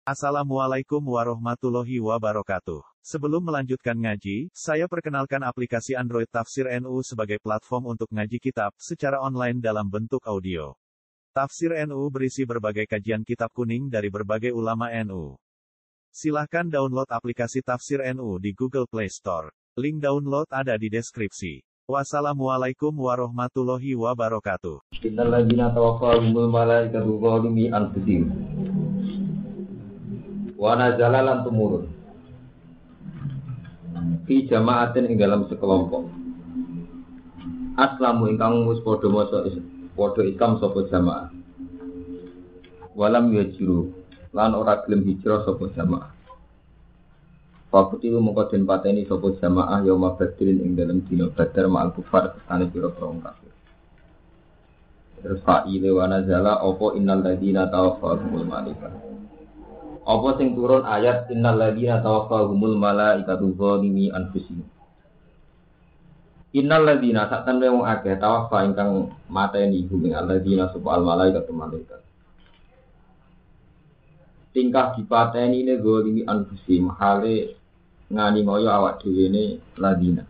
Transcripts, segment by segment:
Assalamualaikum warahmatullahi wabarakatuh. Sebelum melanjutkan ngaji, saya perkenalkan aplikasi Android Tafsir NU sebagai platform untuk ngaji kitab secara online dalam bentuk audio. Tafsir NU berisi berbagai kajian kitab kuning dari berbagai ulama NU. Silahkan download aplikasi Tafsir NU di Google Play Store. Link download ada di deskripsi. Wassalamualaikum warahmatullahi wabarakatuh. Innal ladzina tawaffahumul malaikatu zalimi anfusihim wa nazala lan tumurun fi jama'atin ing dalam sekelompok aslamu ingkang wis padha maca padha Islam sapa jamaah walam yajiru lan ora gelem hijrah sapa jamaah Fakuti mongko den pateni sapa jamaah yauma badrin ing dalam dina badar ma'al kufar kesane pira-pira wong kafir. Terus fa'ile wa nazala apa innal ladzina tawaffahumul malaikatu. Apa sing turun ayat innal ladzina tawaffahumul malaikatu zalimi anfusihim. Innal ladzina sakten wong akeh tawaffa ingkang mateni hum ing alladzina subhal malaikatu malaikat. Tingkah dipateni ne zalimi anfusihim hale ngani moyo awak dhewe ne ladzina.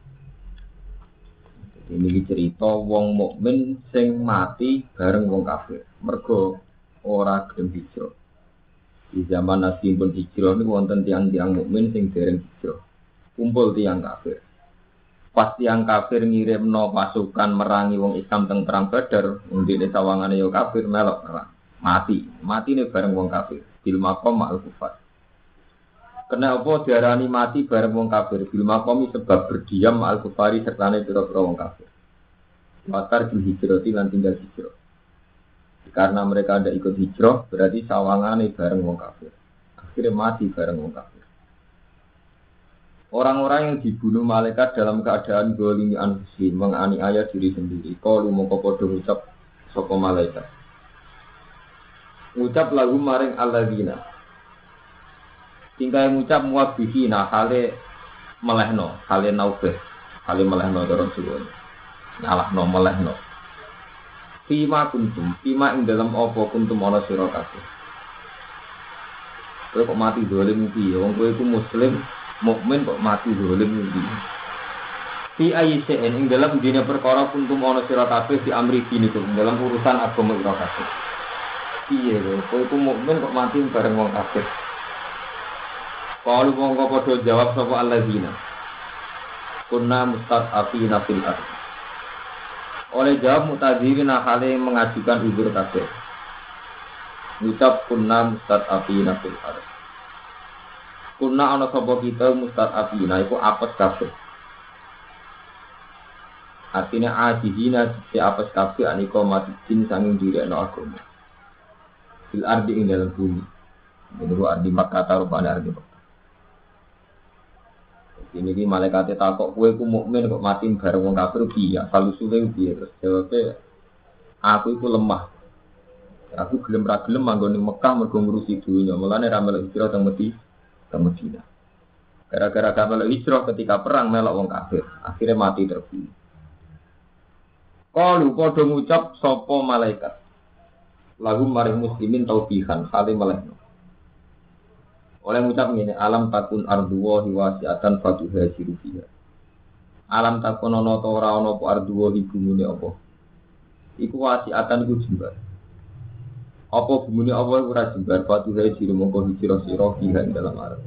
Ini cerita wong mukmin sing mati bareng wong kafir. Mergo ora gelem hijrah. Di zaman Nabi pun hijrah niku wonten tiyang-tiyang mukmin sing dereng hijrah. Kumpul tiyang kafir. Pas tiyang kafir ngirimno pasukan merangi wong Islam teng perang Badar, ndene sawangane yo kafir melok perang. Matine bareng wong kafir. Bil maqam ma'al kufar. Kenapa diarani mati bareng wong kafir? Bil maqami sebab berdiam ma'al kufari sertane pira-pira wong kafir. Watar bil hijrati lan tinggal hijrah. Karena mereka ada ikut hijrah, berarti sawangane bareng wong kafir. Akhirnya mati bareng wong kafir. Orang-orang yang dibunuh malaikat dalam keadaan zalimi anfusihim menganiaya diri sendiri. Qalu mongko padha ngucap sapa malaikat. Ngucap lagu maring alladzina. Tinggal ngucap muwabbihina hale melehno, hale naubeh, hale melehno terus suwun. Nyalahno melehno. Fima kuntum, fima ing dalam apa kuntum ana sira kabeh. Kowe kok mati zalim piye? Wong kowe iku muslim, mukmin kok mati zalim piye? Fi ayyin ing dalam dene perkara kuntum ana sira kabeh di amri dinikum dalam urusan agama sira kabeh. Piye kowe iku mukmin kok mati bareng wong kafir? Qalu mongko padha jawab sapa alladzina. Kunna mustad'afina fil ardh. Oleh jawab mutadzirin hale mengajukan uzur kabeh. Ngucap kunna mustad'afina fil ardh. Kunna ana sapa kita mustad'afina iku apes kabeh. Artinya ajizina si apes kabeh anika mati jin sanging direkno agama. Fil ardi ing dalam bumi. Ini ku ardi Makkah rupane ardi Makkah. Ini ki malaikate takok kowe ku mukmin kok mati bareng wong kafir piye? Asal usule piye? Terus jawabe aku iku lemah. Aku gelem ra gelem manggon ning Mekah mergo ngurusi dunya. Mulane ra melok hijrah teng Madinah. Gara-gara gak melok hijrah ketika perang melok wong kafir, akhirnya mati terbunuh. Qalu padha ngucap sapa malaikat. Lahum maring muslimin taubihan hale melehno. Oleh ngucap ngene, alam takun arduwa hiwasiatan fatuhajiru fiha. Alam takun ana ta ora ana apa arduwa bumune apa. Iku wasiatan iku jembar. Apa bumune apa ora jembar fatuhajiru mongko hijrah sira fiha ing dalam arep.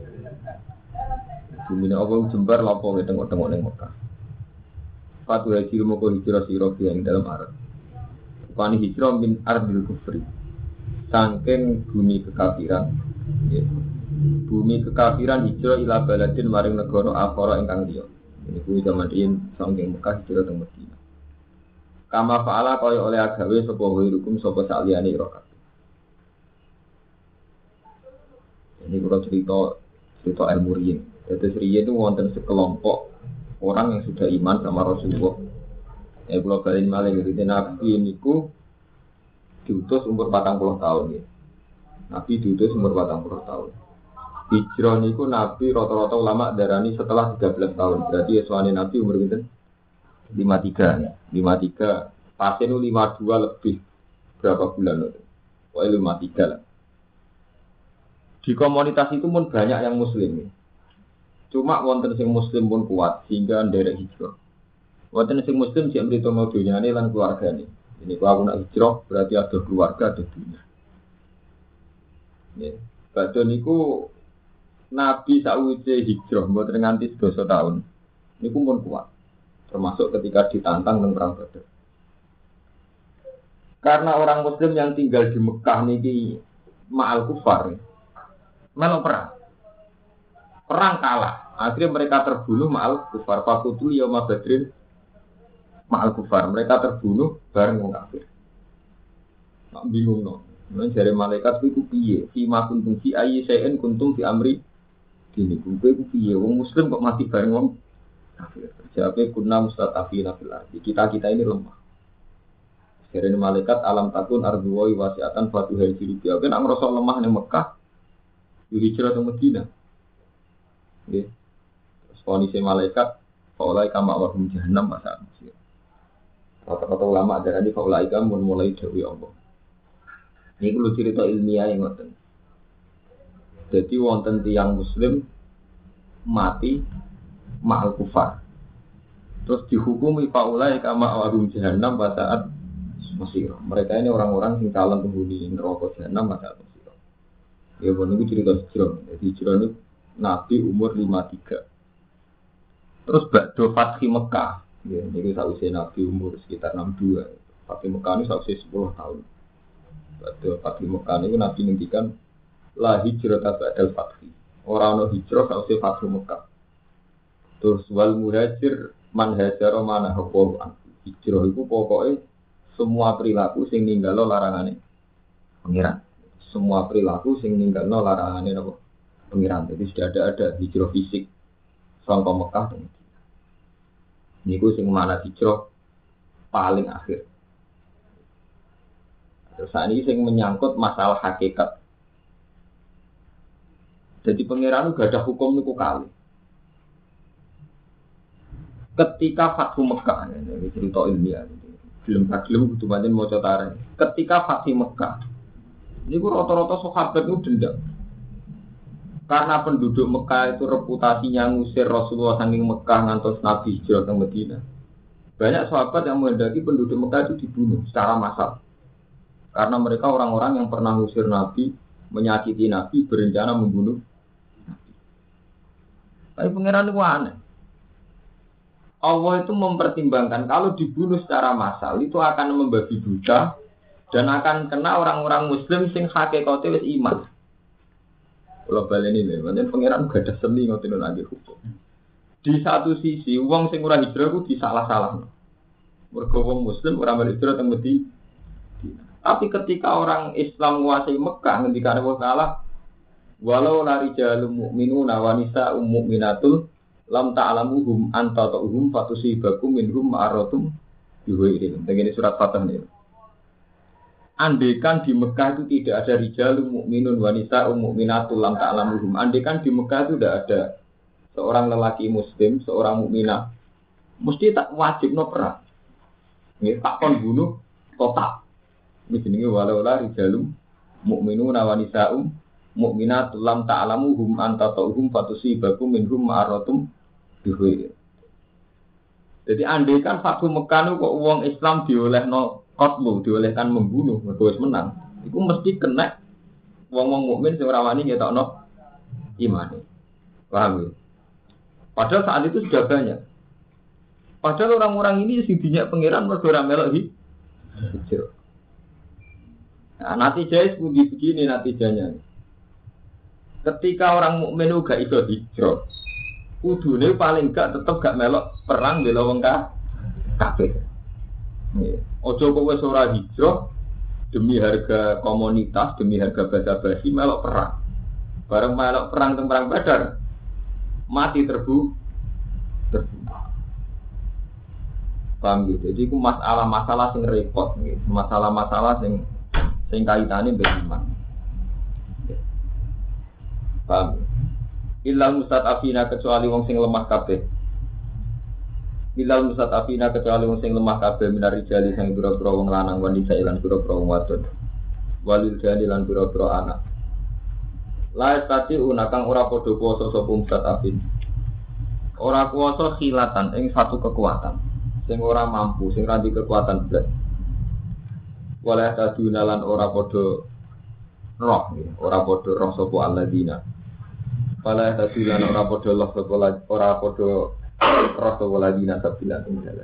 Bumune apa jembar lapo tengok-tengok ning Mekah. Fatuhajiru mongko hijrah sira fiha ing dalam arep. Pani hijrah min ardil kufri. Saking bumi kekafiran. Ya. Bumi kekafiran hijrah ila baladin maring negara akhara ingkang liya. Ini kuwi zaman in saking Mekah hijrah teng Madinah. Kama fa'ala kaya oleh agawe sapa hukum sapa saliyane ira kabeh. Ini kula cerita ilmu riyin. Dadi riyin itu wonten sekelompok orang yang sudah iman sama Rasulullah. Ya kula balen malih ngerti Nabi niku diutus umur 40 tahun ya. Nabi diutus umur 40 tahun. Hijrah niku Nabi rata-rata ulama darani setelah 13 tahun. Berarti yuswane Nabi umur pinten? 53 ya. 53 pasien 52 lebih berapa bulan itu? Pokoknya 53 lah. Di komunitas itu pun banyak yang muslim. Cuma wonten sing muslim pun kuat sehingga nderek hijrah. Wonten sing muslim sing mrito mau dunyane lan keluargane. Ini kalau aku nak hijrah berarti ada keluarga, ada dunia. Ya. Badhe niku Nabi sakwise hijrah mboten nganti 12 tahun. Niku pun kuat. Termasuk ketika ditantang teng perang Badar. Karena orang muslim yang tinggal di Mekah niki ma'al kufar. Melok perang. Perang kalah. Akhirnya mereka terbunuh ma'al kufar. Fakutul yauma badrin ma'al kufar. Mereka terbunuh bareng wong kafir. Nak bingung no. Nang jare malaikat iku piye? Fi ma kuntum fi ayyi shay'in kuntum fi amri dini. Kuwi ku piye? Wong muslim kok mati bareng wong kafir. Jawabe kunna mustatafina fil ardi. Kita ini lemah. Jare malaikat alam takun ardu wa wasi'atan fatuhai jirubi. Nek ngrasa lemah ning Mekah, yo hijrah ke Madinah. Nggih. Terus kondisi malaikat faulai kama wahum jahannam masa masih. Kata-kata ulama darani faulai kama mulai dewi Allah. Ini perlu cerita ilmiah yang ngoten. Jadi wonten tiyang muslim mati ma'al kufar. Terus dihukumi faulai kama wahum jahannam pada Mesir. Mereka ini orang-orang yang calon penghuni neraka jahanam pada Mesir. Ya bon niku cerita hijrah. Jadi hijrah niku Nabi umur 53. Terus badhe Fathi Mekah. Ya niku sakwise Nabi umur sekitar 62. Fathi Mekah niku sakwise 10 tahun. Badhe Fathi Mekah niku Nabi ngendikan la hijrah ba'dal fathi. Ora ana hijrah sakwise Fathi Mekah. Terus wal muhajir man hajara mana hukum hijrah iku pokoke semua perilaku sing ninggalo larangane pengiran. Semua perilaku sing ninggalo larangane apa? Pengiran. Jadi sudah ada hijrah fisik sangka Mekah dan Madinah. Niku sing mana hijrah paling akhir. Terus ini sing menyangkut masalah hakikat. Jadi pengiran gak ada hukum niku kali. Ketika Fathu Mekah, ini cerita ilmiah. Film itu banyak mau cotaran. Ketika Fathu Mekah, ini rata-rata sahabat itu dendam. Karena penduduk Mekah itu reputasinya ngusir Rasulullah saking Mekah ngantos Nabi hijrah ke Madinah. Banyak sahabat yang menghendaki penduduk Mekah itu dibunuh secara massal. Karena mereka orang-orang yang pernah ngusir Nabi, menyakiti Nabi, berencana membunuh Nabi. Tapi pangeran itu aneh. Allah itu mempertimbangkan kalau dibunuh secara massal itu akan membabi buta dan akan kena orang-orang muslim sing hakikate wis iman. Kalau baleni lho, pancen pangeran gak ada seni ngoten lagi hukum. Di satu sisi wong sing ora hijrah ku disalah-salahno. Mergo wong muslim ora hijrah teng Madinah. Tapi ketika orang Islam menguasai Mekah ngendikane Allah Taala walau la rijalul mu'minuna wa nisa'um mu'minatul lam ta'lamuhum anta ta'uhum fatusibakum minhum ma'aratum biwairin. Begini surat Fatah ini. Andaikan di Mekah itu tidak ada rijalul mu'minun wa nisa'um mu'minatul lam ta'lamuhum. Andaikan di Mekah itu tidak ada seorang lelaki muslim, seorang mukminah, mesti tak wajib no perang. Ini tak kon bunuh total. Ini jenenge walau la rijalul mu'minun wa nisa'um mu'minatul lam ta'lamuhum anta ta'uhum fatusibakum minhum ma'aratum biwairin. Jadi andaikan Fathu Mekah kok wong Islam diolehno qatlu, diolehkan membunuh, mergo wis menang. Iku mesti kena wong-wong mukmin sing ora wani ngetokno imane. Paham ya? Padahal saat itu sudah banyak. Padahal orang-orang ini sing dinyak pangeran mergo ora melok hijrah. Nah, natijahnya begini natijahnya. Ketika orang mukmin gak iso hijrah, kudune paling gak tetep gak melok perang bela wong kafir. Ojo kok wis ora hijrah demi harga komunitas, demi harga basa-basi melok perang. Bareng melok perang teng perang Badar, mati terbunuh. Paham gitu. Jadi itu masalah-masalah sing repot gitu. Masalah-masalah sing kaitane mbek iman. Paham. Illal mustad'afina kecuali wong sing lemah kabeh. Illal mustad'afina kecuali wong sing lemah kabeh minar rijali sing pira-pira wong lanang wanita lan pira-pira wong wadon. Walil jani lan pira-pira anak. La tadi unakang ora padha kuwasa sapa mustadafin. Ora kuwasa khilatan ing satu kekuatan. Sing ora mampu, sing ra di kekuatan blas. Wala taduna lan ora padha roh, ora padha roh sapa alladzina. Wala taduna lan ora padha roh sapa ora padha roh sapa alladzina sabila tinggal.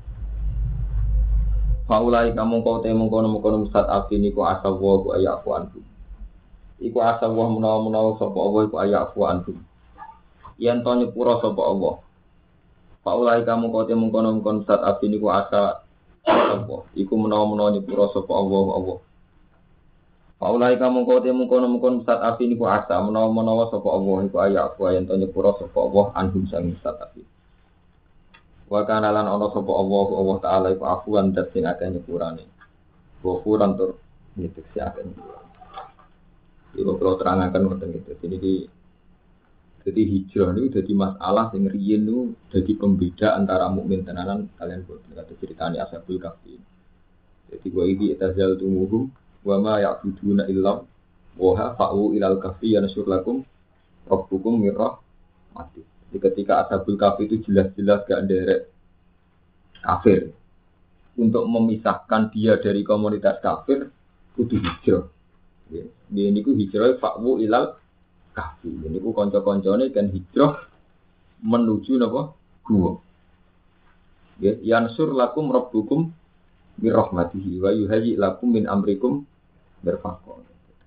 Faulai kamu kau temung kono mustadafin iku asawa ku ayaku antu. Iku asa Allah menawa-menawa sapa Allah iku ayafu antum. Yen to nyepura sapa Allah. Faulai kamu kote mengkono-mengkon saat abin iku asa Allah. Iku menawa-menawa nyepura sapa Allah. Faulai kamu kote mengkono-mengkon saat abin iku asa menawa-menawa sapa Allah iku ayafu yen to nyepura sapa Allah anhum sang saat abin. Wa kana lan ana sapa Allah taala iku afuwan dat sing akeh nyepurane. Ghafuran tur nyepura akeh nyepurane. Ibu kalau terangkan tentang itu, jadi hijrah itu jadi masalah yang riyen itu jadi pembeda antara mukmin tenanan kalian buat kata ceritanya Ashabul Kahfi. Jadi gua ini etazal tumuhu, wa ma ya'buduna illa wa fa'u ilal kahfi yanshur lakum rabbukum mirrah mati. Jadi ketika Ashabul Kahfi itu jelas-jelas gak derek kafir, untuk memisahkan dia dari komunitas kafir kudu hijrah. Ini ku hijrah fa'wu ilal kahfi. Ini ku konco-koncone kan hijrah menuju napa gua. Ya, yansur lakum rabbukum bi rahmatihi wa yuhayyi lakum min amrikum mirfaqan.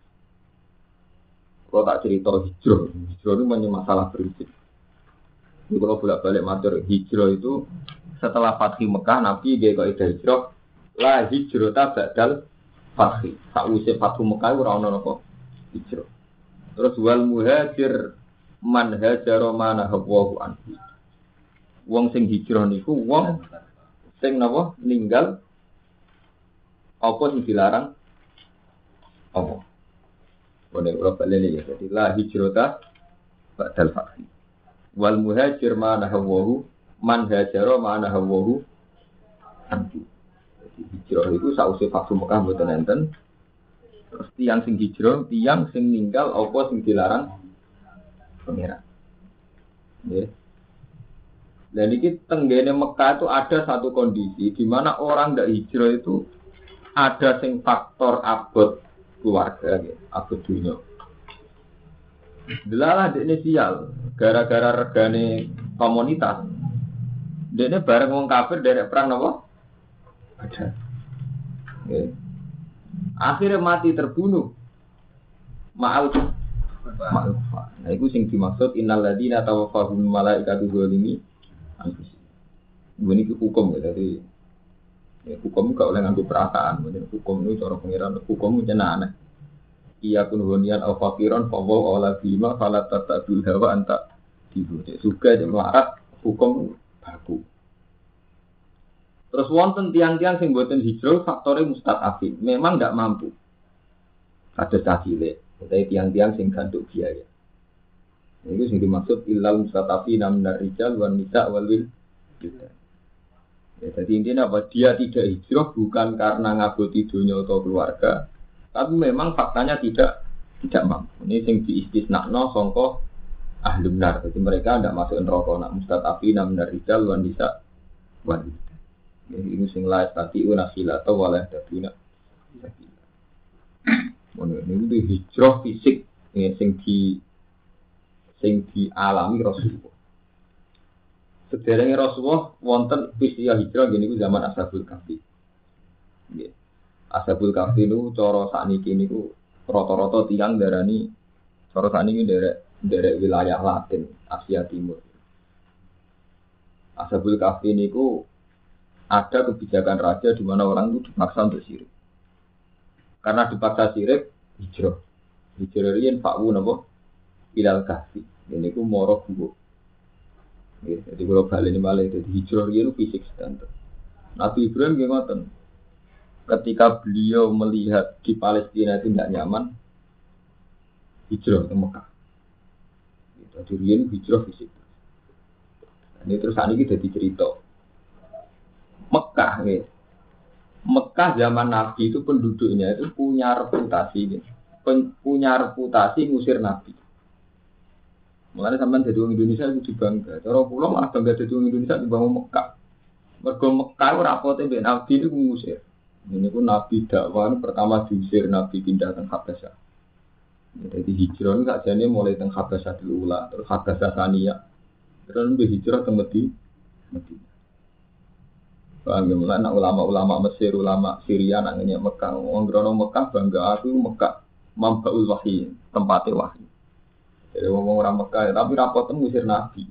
Kalau tak cerita hijrah itu banyak masalah prinsip. Ini kalau bolak-balik matur hijrah itu setelah Fathu Mekah Nabi dia kaidah hijrah la hijrata ba'dal Fathi, sakwise Fathu Mekah ora ana napa hijrah. Terus wal muhajir man hajara mana hawahu anhu. Wong sing hijrah niku wong sing napa ninggal apa sing dilarang apa. Boleh ora balene ya. Jadi la hijrata ba'dal fathi. Wal muhajir mana hawahu man hajara mana hawahu anhu. Hijrah itu sausé Fathu Mekah mboten enten. Terus tiyang sing hijrah, tiyang sing ninggal apa sing dilarang pangeran. Nggih. Dan iki tenggene Mekah itu ada satu kondisi di mana orang ndak hijrah itu ada sing faktor abot keluarga nggih, abot dunya. Delalah dekne sial gara-gara regane komunitas. Dekne bareng wong kafir derek perang napa? Ada. Okay. Akhirnya mati terbunuh. Ma'al. Nah itu sing dimaksud innal ladzina tawaffahum malaikatu zalimi anfusihim. Ini hukum ya, jadi ya, hukum gak oleh nganggo perasaan. Hukum itu cara pengiran hukum itu aneh. Iya kun hunian au faqiran fa wa ala bima fala tatabul hawa anta dibu. Suka jeung larat hukum baku. Terus wonten tiang-tiang sing mboten hijrah faktore mustadafin, memang enggak mampu. Ada cacile, utawi tiang-tiang sing ganduk biaya. Itu sing dimaksud illal mustadafina minar rijal wan nisa wal wildan. Ya, jadi intinya apa? Dia tidak hijrah bukan karena ngaboti dunia atau keluarga, tapi memang faktanya tidak mampu. Ini sing diistisnakno sangka ahli benar. Jadi mereka tidak masuk neraka. Nak mustadafina minar rijal wan nisa wal wildan. Ini sing la tati una khilata wala taduna. Ini itu hijrah fisik sing dialami Rasulullah. Sederenge Rasulullah wonten peristiwa hijrah gini ku zaman Ashabul Kahfi. Nggih. Ashabul Kahfi niku cara sakniki niku rata-rata tiyang darani cara sakniki derek wilayah Latin, Asia Timur. Ashabul Kahfi niku ada kebijakan raja di mana orang itu dipaksa untuk syirik. Karena dipaksa syirik, hijrah. Hijrah riyen fa'u napa? Ilal kahfi. Ini ku moro gua. Jadi kalau balik ini malah jadi hijrah riyen fisik standar. Nabi Ibrahim nggih ngoten. Ketika beliau melihat di Palestina itu tidak nyaman, hijrah ke Mekah. Jadi riyen hijrah fisik. Ini terus saat ini jadi cerita. Mekah, Mekah zaman Nabi itu penduduknya itu punya reputasi. punya reputasi ngusir Nabi. Mulane sampean dadi wong Indonesia kudu bangga. Cara kula malah bangga dadi wong Indonesia timbang Mekah. Mergo Mekah ora rapote mbek Nabi niku ngusir. Ini ku Nabi dakwah pertama diusir Nabi pindah ke Habasyah. Jadi hijrah ini sakjane mulai teng Habasyah Ula, terus Habasyah Saniyah. Terus mbek hijrah teng Madinah. Paham ya, mulai ulama-ulama Mesir, ulama Syria nangnya Mekah. Wong grono Mekah bangga aku Mekah mambaul wahyi, tempate wahyi. Jadi ngomong orang Mekah, tapi rapot ngusir Nabi.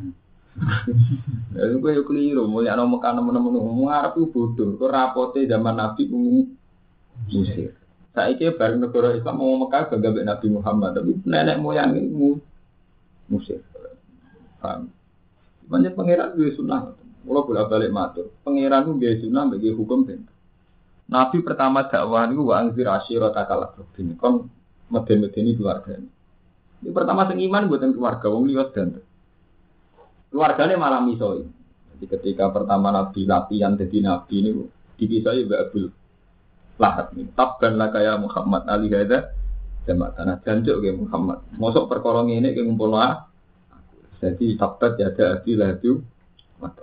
Lalu gue yuk keliru, mulia no Mekah teman-teman ngomong Arab itu bodoh. Kau rapotnya zaman Nabi ngusir. Saya kira bareng negara Islam ngomong Mekah bangga dengan Nabi Muhammad, tapi nenek moyang ini ngusir. Paham? Banyak pangeran gue sunnah. Kalau boleh balik matur, pangeran itu gue sunnah bagi hukum ben. Nabi pertama dakwah itu wa anzir ashiratakal aqrabin. Kon meden-medeni keluarga. Ini pertama sing iman buatan keluarga wong liwat dan keluarganya malah misoi. Jadi ketika pertama Nabi latihan jadi Nabi ini dipisah Mbak Abdul Lahab ini. Tabban lah kayak Muhammad Ali Hada jamak tanah jancuk kayak Muhammad. Mosok perkara ngene ki ngumpul lah. Jadi tabbat ya ada Abdul Lahab mata.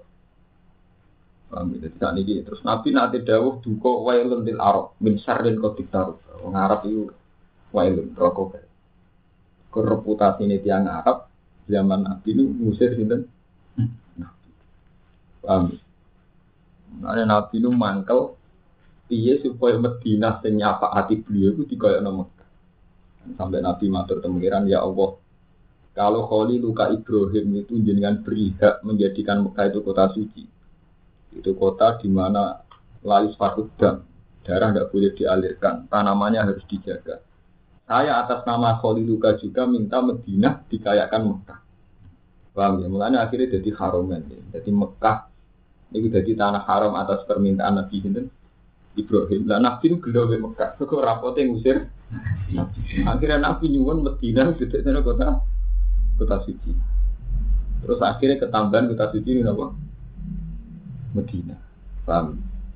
Paham itu tidak niki. Terus Nabi nanti dawuh duka wailun lil Arab min syarril qadik taruf. Wong Arab itu wailun rokok. Reputasi ini tiang Arab zaman Nabi ini ngusir sinten Nabi. Paham? Karena Nabi itu mangkel piye supaya Madinah sing nyafaati beliau itu dikoyokno Mekah. Sampai Nabi matur temengiran ya Allah, kalau Khaliluka Ibrahim itu jenengan beri hak menjadikan Mekah itu kota suci. Itu kota di mana lalis fakut dam, darah tidak boleh dialirkan, tanamannya harus dijaga. Saya atas nama Khaliluka juga minta Madinah dikayakan Mekah. Paham ya? Mulanya akhirnya jadi haromen. Ya. Jadi Mekah ini jadi tanah haram atas permintaan Nabi Ibrahim. Nah Nabi itu gelo di Mekah. Kok rapotnya ngusir. Akhirnya Nabi nyuwun Madinah jadi kota suci. Terus akhirnya ketambahan kota suci ini apa? Madinah. Paham?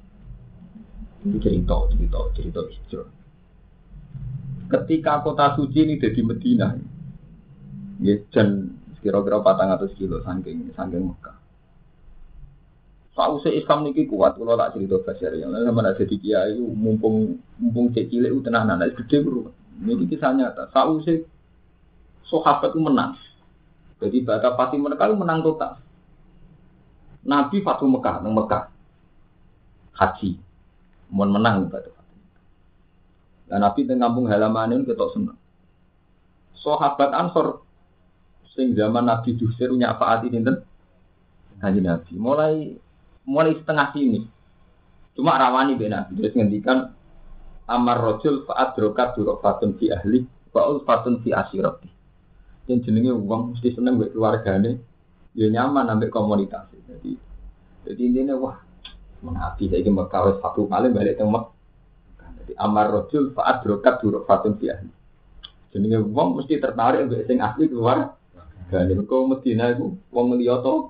Ini cerita hijrah. Ketika kota suci ini jadi Madinah, ya dan kira-kira 400 kilo saking Mekah. Sausé Islam niki kuat, kalau tak cerita basar ya. Sama ada jadi kiai, mumpung cek cilik tenanan, gede bro. Ini kisah nyata. Sausé sahabat itu menang. Jadi bata pasti mereka itu menang total. Nabi Fatu Mekah, nang Mekah, haji, mau menang bata. Dan Nabi teng kampung halaman ini ketok seneng. Sahabat Ansor sing zaman Nabi diusir nyafaati dinten Kanjeng Nabi. Mulai setengah sini. Cuma rawani ben Nabi terus ngendikan amar rajul fa adrokat durfatun fi ahli wa ulfatun fi asirati. Yang jenenge wong mesti seneng mbek keluargane, ya nyaman ambek komunitas. Jadi intine wah Nabi saiki Mekah wis satu kali balik teng Mekah. Amar rojul faat brokat duruk fatun fi'ah. Jadi wong mesti tertarik mbek sing asli keluar. Dan kok Madinah iku wong liya to.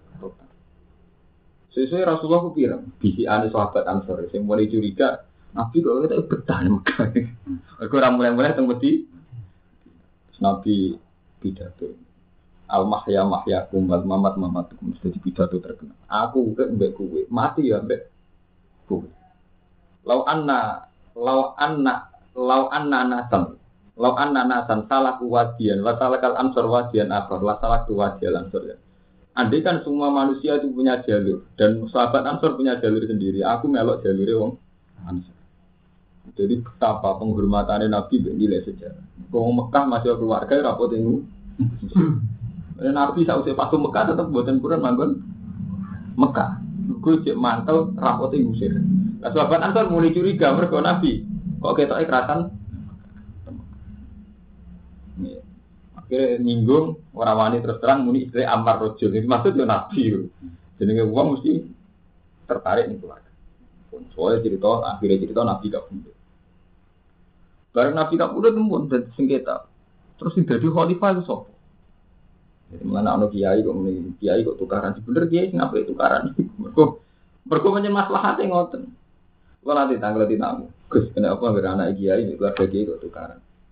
Sesuai Rasulullah ku pirang, bisiane sahabat Ansor sing mulai curiga, Nabi kok ketok betah Mekah. Aku ora mulai-mulai teng Madinah. Nabi pidato. Al-mahya mahyakum wal mamat mamatukum mesti pidato terkenal. Aku mbek kowe, mati ya mbek kowe. Lau anna nasan salah wadian, wa salakal ansor wadian akhir, la salak wadian ansor ya. Andai kan semua manusia itu punya jalur dan sahabat ansor punya jalur sendiri, aku melok jalure wong ansor. Jadi betapa penghormatannya Nabi nilai sejarah. Wong Mekah masih keluarga rapot ini. Nabi sausé pas Mekah tetap buatan Quran manggon Mekah. Gue cek mantel rapotnya ngusir. Nah, sahabat Ansor mulai curiga mereka Nabi. Kok ketok kerasan? Akhirnya nyinggung orang wani terus terang muni istilah Ammar Rojul. Itu maksudnya Nabi. Jadi uang mesti tertarik nih keluarga. Soalnya akhirnya cerita Nabi gak punya. Bareng Nabi gak punya tembun dan sengketa. Terus jadi khalifah itu sopo. Jadi mana anak kiai kok tukaran. Sebenernya kiai ngapain tukaran? Mereka punya masalah hati ngoten. Kalau nanti tanggal di tamu, Gus kenapa anak kiai keluarga kiai kok tukaran?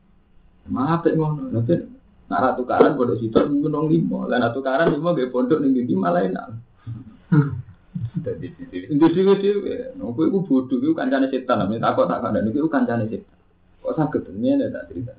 Apik ngono. Nanti nak tukaran pondok sitok menong 5. Lah nak tukaran 5 nggih pondok ning ndi malah enak. Dadi dhewe. Kowe iku bodho iku kancane setan. Nek takok tak kandhane iku kancane setan. Kok saged ngene tak cerita.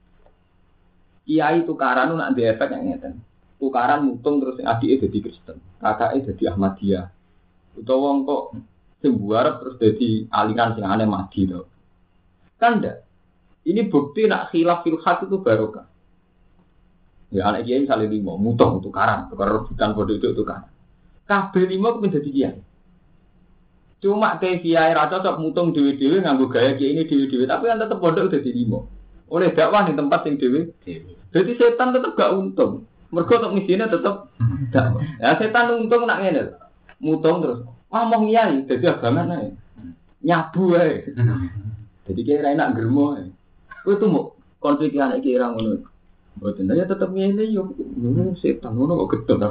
Kiai tukaran nak ndek efek yang ngeten. Tukaran mutung terus sing adike dadi Kristen, kakake dadi Ahmadiyah. Utawa wong kok sing buarep terus dadi aliran sing aneh mati to. Kan ndak. Ini bukti nak khilaf fil haq itu barokah. Ya anak kiai misalnya 5 mutung tukaran rebutan bodoh itu tukaran. Kabeh 5 kepen dadi kiai. Cuma kiai ra cocok mutung dhewe-dhewe nganggo gaya kiai ini dhewe-dhewe, tapi kan tetep bodoh dadi 5. Oleh dakwah di tempat sing dhewe. Jadi setan tetep gak untung. Mergo tok misine tetep dakwah. Ya setan untung nak ngene. Mutung terus ngomong kiai dadi abangan ae. Nyabu ae. Jadi kiai ra enak gremo ae. Kowe tuh mau konflik anak kiai ra ngono. Mboten ya tetep ngene yo. Setan ngono kok gedhe.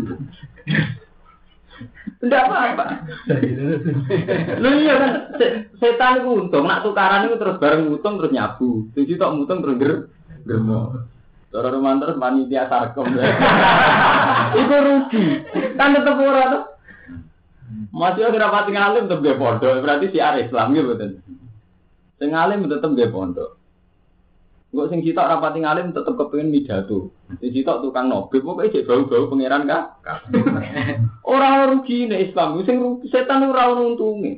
Tidak apa-apa. Lu iya kan setan itu untung, nak tukaran itu terus bareng mutung terus nyabu. Jadi tok mutung terus germo. Cara romantis panitia sarkom. Itu rugi. Kan tetep ora tuh. Masih ora pati ngalim tetep ge pondok, berarti siar Islam gitu betul. Sing ngalim tetep ge pondok. Kok sing sitok rapati ngalim tetep kepengin pidato. Sing sitok tukang nobib pokoke jek bau-bau pangeran ka. Ora rugi nek Islam, sing rugi setan ora ono untunge.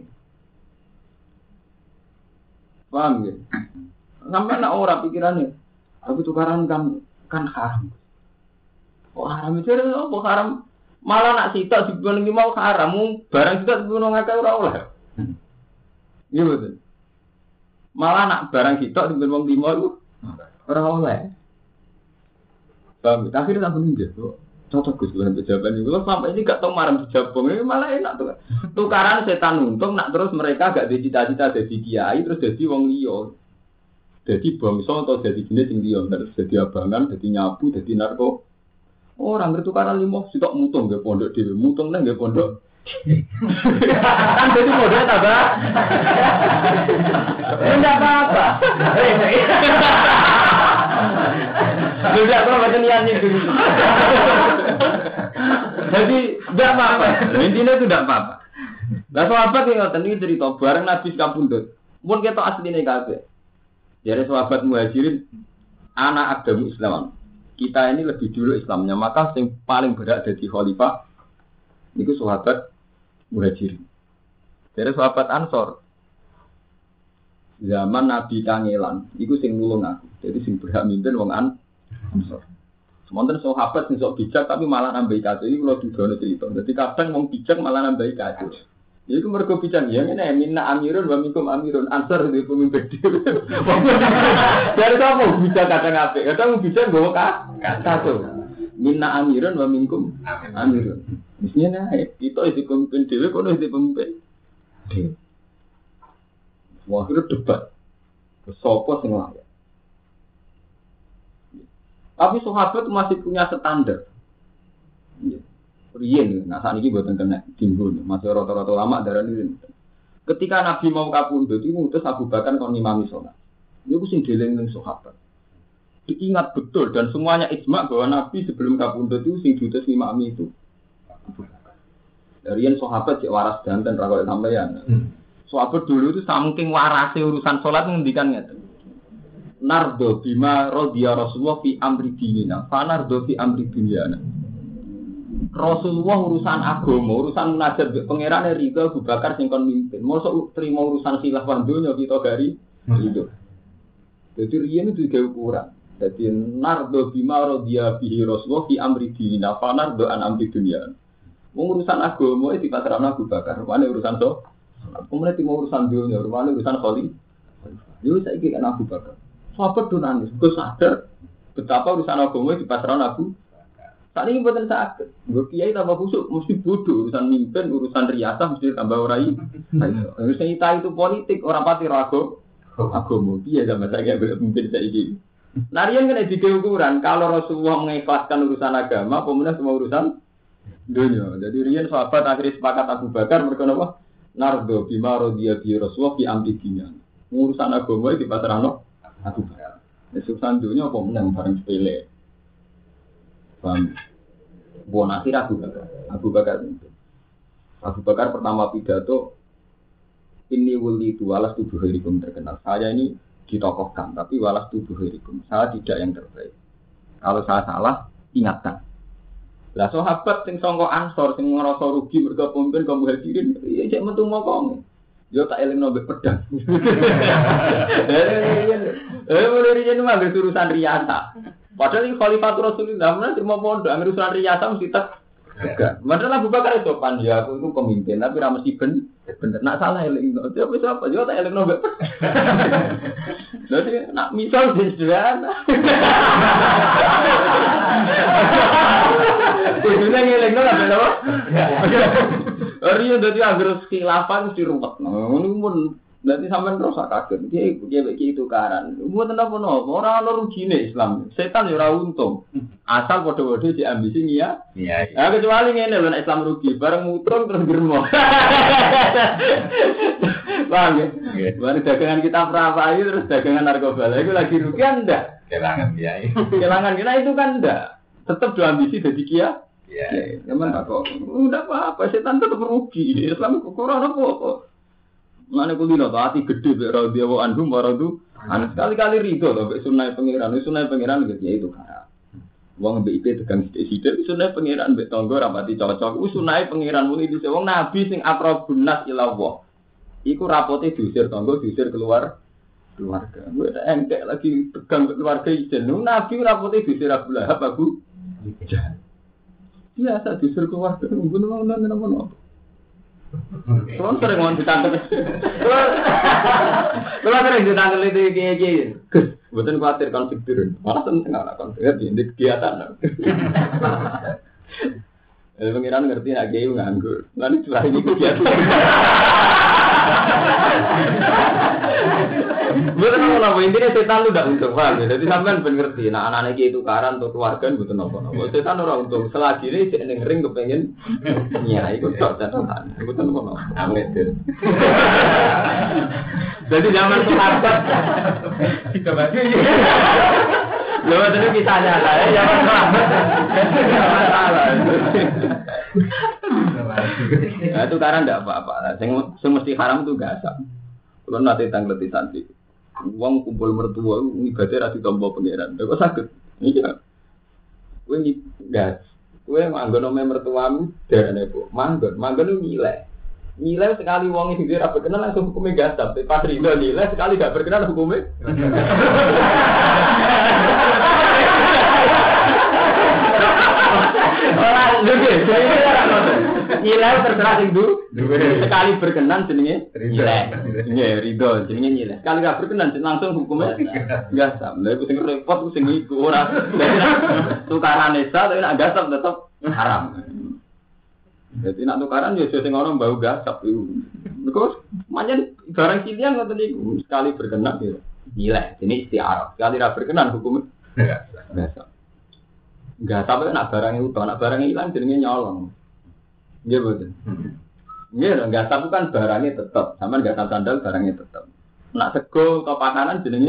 Paham ya? Sampai nak ora pikirane. Tapi tukaran kan haram. Oh haram itu apa haram? Malah nak sitok dibanding mau haram, barang sitok dibunuh ngakeh ora oleh. Iya betul. Malah nak barang sitok dibanding wong 5 iku ora oleh. Paham? Akhirnya tak bener tuh. Cocok Gus dengan jawaban ini. Kalau sampai ini gak tau marah dijabung, ini malah enak tuh. Tukaran setan untung, nak terus mereka gak ada cita-cita jadi kiai, terus jadi wong liya. Jadi bangsa atau jadi jenis yang liya, terus jadi abangan, jadi nyabu, jadi narko. Orang bertukaran 5 sitok mutung gak pondok dhewe, mutung nang gak pondok. Kan jadi modalnya tambah. Enggak apa-apa. Sudah kok macam niat itu. Jadi enggak apa-apa. Intinya itu enggak apa-apa. Lah sahabat yang ngoten iki cerita bareng Nabi kapundhut. Mun ketok asline kabeh. Jare sahabat Muhajirin anak agama Islam. Kita ini lebih dulu Islamnya, maka yang paling berat jadi khalifah niku sahabat Muhajirin. Jare sahabat Ansor. Zaman Nabi kangelan, iku sing nulung aku. Jadi sing berhak mimpin wong Ansor. Semonten sahabat sing sok bijak tapi malah nambahi kacau. Iki kula dudono cerita. Dadi kadang wong bijak malah nambahi kacau. Iku mergo bijak ya ngene minna amirun wa minkum amirun Ansor di pemimpin dhewe. Dari sapa bijak kadang apik, kadang bijak nggowo kacau. Minna amirun wa minkum amirun. Mestinya kita itu pemimpin dhewe kono itu pemimpin dhewe. Wah, itu debat. Sopo sing layak. Tapi sahabat masih punya standar. Riyen, nah saat ini buatan kena timbul. Masih rata-rata lama darah ini. Ketika Nabi mau kapundhut, itu ngutus Abu Bakar kon ngimami sholat. Itu sing dieling ning sahabat. Diingat betul dan semuanya ijma bahwa Nabi sebelum kapundhut itu sing diutus ngimami itu. Riyen sahabat cek waras danten ra koyo sampeyan. Sahabat dulu itu saking warase urusan sholat ngendikan ngeten. Nardo bima radhiya Rasulullah fi amri dinina, fa nardo fi amri dunyana. Rasulullah urusan agama, urusan munajat mbek pangerane ridho Abu Bakar sing kon mimpin. Mosok trimo urusan khilafah donya kita gari itu. Jadi riyen itu juga ukuran. Jadi nardo bima radhiya bihi Rasulullah fi amri dinina, fa nardo an amri dunyana. Urusan agama itu dipasrahna Abu Bakar, rupane urusan kemudian timur urusan dunia, rumahnya urusan kholi. Jadi saya ingin Abu Bakar. Sahabat tu nangis, gue sadar betapa urusan agama di pasaran Abu. Saat ini buatan sakit. Gue kiai tambah busuk, mesti bodoh. Urusan mimpin, urusan riasah mesti tambah orai. Urusan kita itu politik, orang pati ragu. Agama, dia sama saya boleh mimpin saya ini. Narian kan ada ukuran. Kalau Rasulullah mengikhlaskan urusan agama, pemenang semua urusan dunia. Jadi rian sahabat akhirnya sepakat Abu Bakar mereka apa? Nardo bima radhiya bi Rasulullah fi amri dunya. Urusan agama di pasarano Abu Bakar. Urusan dunia apa menang bareng sepele. Paham? Bukan akhir Abu Bakar pertama pidato ini wali itu walas tubuh hirikum terkenal. Saya ini ditokohkan, tapi walas tubuh hirikum. Saya tidak yang terbaik. Kalau saya salah, ingatkan. Lah sahabat sing sangka Ansor sing ngrasa rugi mergo pemimpin kaum Muhajirin, ya cek metu mokong. Yo tak elingno mbek pedang. Mulai riyen mah urusan riasa. Padahal ini Khalifatul Rasulullah, mana terima pondok, ambil urusan riasa mesti tak. Padahal Abu Bakar itu sopan, ya aku itu pemimpin, tapi ramah si bener, nak salah eling, dia bisa apa, dia tak eling nobel. Jadi nak misal sederhana. Kudunya ngeling nol apa apa? Riyen dadi anggere khilafah mesti ruwet. Ngono pun nanti sampean terus kaget. Dia begitu karan. Mboten napa-napa, ora ana rugine Islam. Setan ya ora untung. Asal padha-padha diambisi ya. Iya. Nah, kecuali ngene lho nek Islam rugi, bareng mutung terus germo. Paham ya? Bareng dagangan kita perapai terus dagangan narkoba. Lah iku lagi rugi ndak? Kelangan kiai. Kelangan kena itu kan ndak. Tetap diambisi dadi kiai. Iya. Memang tak kok. Udah apa-apa, setan tetap rugi. Islam kok ora apa-apa. Mana kulino tuh hati gede berau dia wa anhum waradu. Anak sekali-kali ridho loh sunai pangeran gitu ya itu kan. Wong BIP tegang sithik-sithik sunai pangeran mbek tangga rapati cocok. Sunai pangeran muni dise wong nabi sing akrabun nas ila Allah. Iku rapote diusir tangga diusir keluarga. Gue engkek lagi tegang keluarga ijen. Nabi rapote diusir Abu Lahab Abu Jahal. Biasa diusir keluarga ngono. Kalau sering mau ditangkap, kalau sering ditangkap itu kiai, bukan khawatir konflik turun, malah tentang anak konflik di kegiatan. Pengiran ngerti nak kiai nganggur, nanti curah ini kegiatan. Betul apa intinya setan lu tidak untung, paham ya? Jadi sampean ben ngerti, nah anak-anak kiai tukaran untuk keluarga betul apa? Setan orang untung, selagi ini cek ning kepengen, ya ikut tok catatan, betul apa? Amin. Jadi zaman sahabat, kita baca. Lalu tadi kisahnya saya, zaman sahabat, masalah. Nah itu karena tidak apa-apa, semesti haram itu gasap. Kalau nanti tanggleti santri, uang kumpul mertua, ibadah rasi tombol pengiran, kok sakit? Iya, gue gas, gue manggon nomor mertuamu dari nebo, manggon itu nilai sekali uang itu dia rapi kenal langsung hukumnya gasap, pas rido nilai sekali gak berkenan hukumnya. Orang juga, nilai terserah itu sekali berkenan jenenge nilai, ridho jenenge nilai. Sekali gak berkenan langsung hukumnya gasap. Lalu sing repot sing iku ora. Tukaran esa tapi nak gasap tetap haram. Jadi nak tukaran ya sing ono bau gasap iku. Mergo manjen barang silian ngoten niku sekali berkenan ya nilai. Ini istiarah. Sekali ra berkenan hukumnya gasap. Enggak sampai nak barangnya utuh, nak barangnya hilang jadinya nyolong. Iya betul. Iya enggak sampai kan barangnya tetap, sama enggak sampai sandal barangnya tetap. Nak sego atau pakanan jadinya.